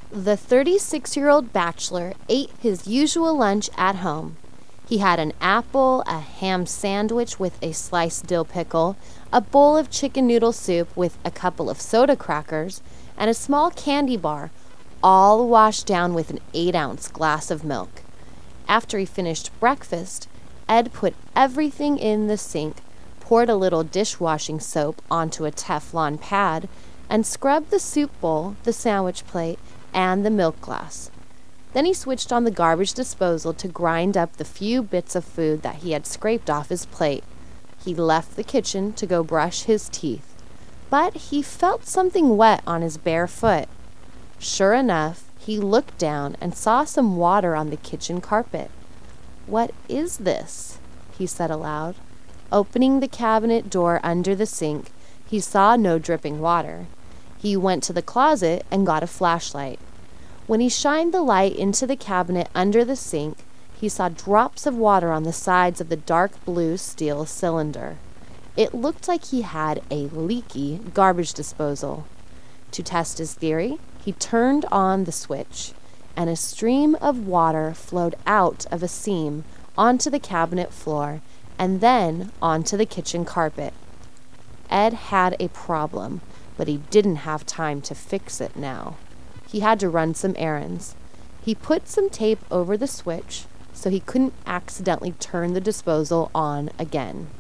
The 36-year-old bachelor ate his usual lunch at home. He had an apple, a ham sandwich with a sliced dill pickle, a bowl of chicken noodle soup with a couple of soda crackers, and a small candy bar, all washed down with an 8-ounce glass of milk. After he finished breakfast, Ed put everything in the sink, poured a little dishwashing soap onto a Teflon pad, and scrubbed the soup bowl, the sandwich plate, and the milk glass. Then he switched on the garbage disposal to grind up the few bits of food that he had scraped off his plate. He left the kitchen to go brush his teeth, but he felt something wet on his bare foot. Sure enough, he looked down and saw some water on the kitchen carpet. "What is this?" he said aloud. Opening the cabinet door under the sink, he saw no dripping water. He went to the closet and got a flashlight. When he shined the light into the cabinet under the sink, he saw drops of water on the sides of the dark blue steel cylinder. It looked like he had a leaky garbage disposal. To test his theory, he turned on the switch, and a stream of water flowed out of a seam onto the cabinet floor and then onto the kitchen carpet. Ed had a problem, but he didn't have time to fix it now. He had to run some errands. He put some tape over the switch so he couldn't accidentally turn the disposal on again.